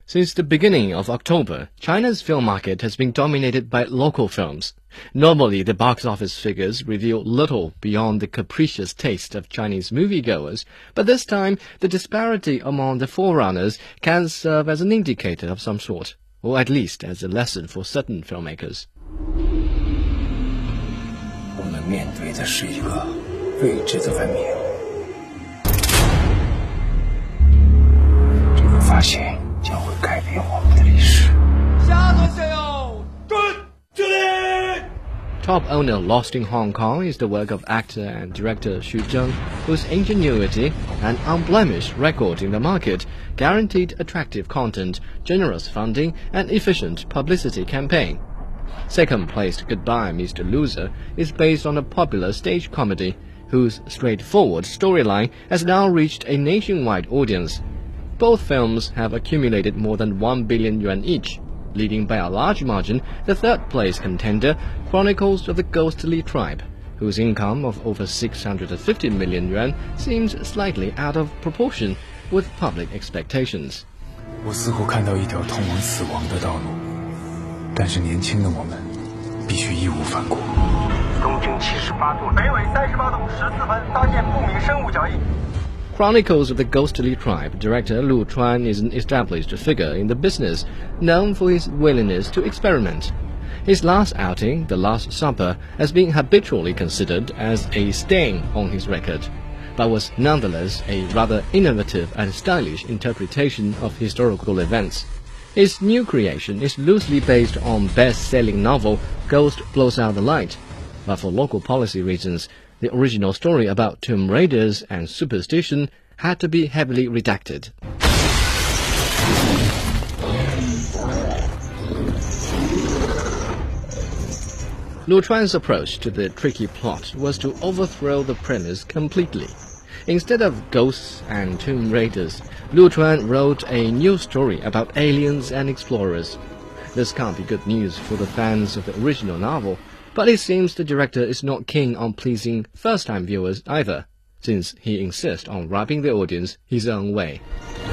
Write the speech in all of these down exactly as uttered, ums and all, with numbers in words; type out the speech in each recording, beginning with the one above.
Since the beginning of October, China's film market has been dominated by local films. Normally, the box office figures reveal little beyond the capricious taste of Chinese moviegoers, but this time, the disparity among the forerunners can serve as an indicator of some sort, or at least as a lesson for certain filmmakers. 我们面对的是一个未知的文明，这个发现将会改变我们的历史。 下座向右，准，敬礼。 Top Owner Lost in Hong Kong is the work of actor and director Xu Zheng, whose ingenuity and unblemished record in the market guaranteed attractive content, generous funding, and efficient publicity campaign. Second-placed Goodbye, Mister Loser is based on a popular stage comedy, whose straightforward storyline has now reached a nationwide audience. Both films have accumulated more than one billion yuan each, leading by a large margin the third-place contender, Chronicles of the Ghostly Tribe, whose income of over six hundred fifty million yuan seems slightly out of proportion with public expectations. 我似乎看到一条通往死亡的道路，但是年轻的我们必须义无反顾。东经七十八度，北纬三十八度十四分，发现不明生物脚印。 Chronicles of the Ghostly Tribe director Lu Chuan is an established figure in the business, known for his willingness to experiment. His last outing, The Last Supper, has been habitually considered as a stain on his record, but was nonetheless a rather innovative and stylish interpretation of historical events. His new creation is loosely based on best-selling novel Ghost Blows Out the Light, but for local policy reasons, the original story about tomb raiders and superstition had to be heavily redacted. Lu Chuan's approach to the tricky plot was to overthrow the premise completely. Instead of ghosts and tomb raiders, Lu Chuan wrote a new story about aliens and explorers. This can't be good news for the fans of the original novel, but it seems the director is not keen on pleasing first-time viewers either, since he insists on wrapping the audience his own way.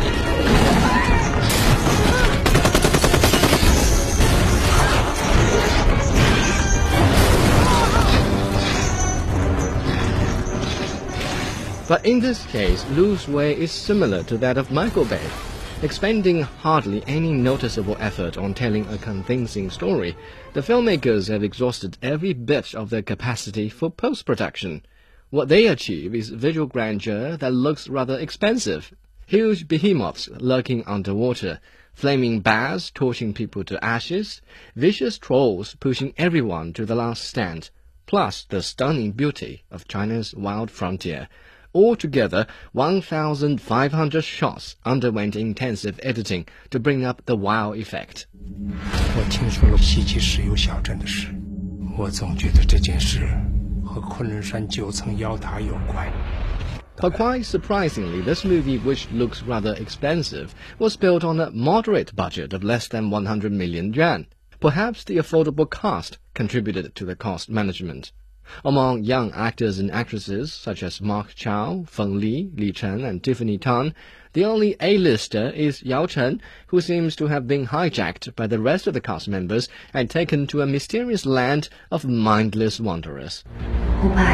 But in this case, Lu's way is similar to that of Michael Bay, expending hardly any noticeable effort on telling a convincing story. The filmmakers have exhausted every bit of their capacity for post-production. What they achieve is visual grandeur that looks rather expensive. Huge behemoths lurking underwater, flaming bears torching people to ashes, vicious trolls pushing everyone to the last stand, plus the stunning beauty of China's wild frontier. Altogether, one thousand five hundred shots underwent intensive editing to bring up the wow effect. 我听说了西岐石油小镇的事，我总觉得这件事和昆仑山九层妖塔有关。 But quite surprisingly, this movie, which looks rather expensive, was built on a moderate budget of less than one hundred million yuan. Perhaps the affordable cast contributed to the cost management. Among young actors and actresses such as Mark Chow, Feng Li, Li Chen, and Tiffany Tan, the only A-lister is Yao Chen, who seems to have been hijacked by the rest of the cast members and taken to a mysterious land of mindless wanderers. 五百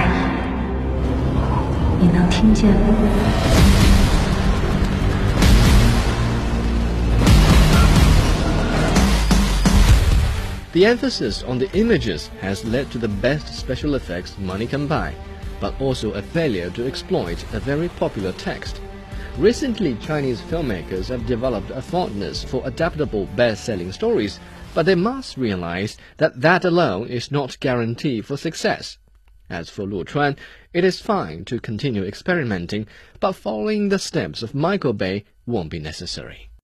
亿，你能听见吗？ The emphasis on the images has led to the best special effects money can buy, but also a failure to exploit a very popular text. Recently, Chinese filmmakers have developed a fondness for adaptable best-selling stories, but they must realize that that alone is not guarantee for success. As for Lu Chuan, it is fine to continue experimenting, but following the steps of Michael Bay won't be necessary.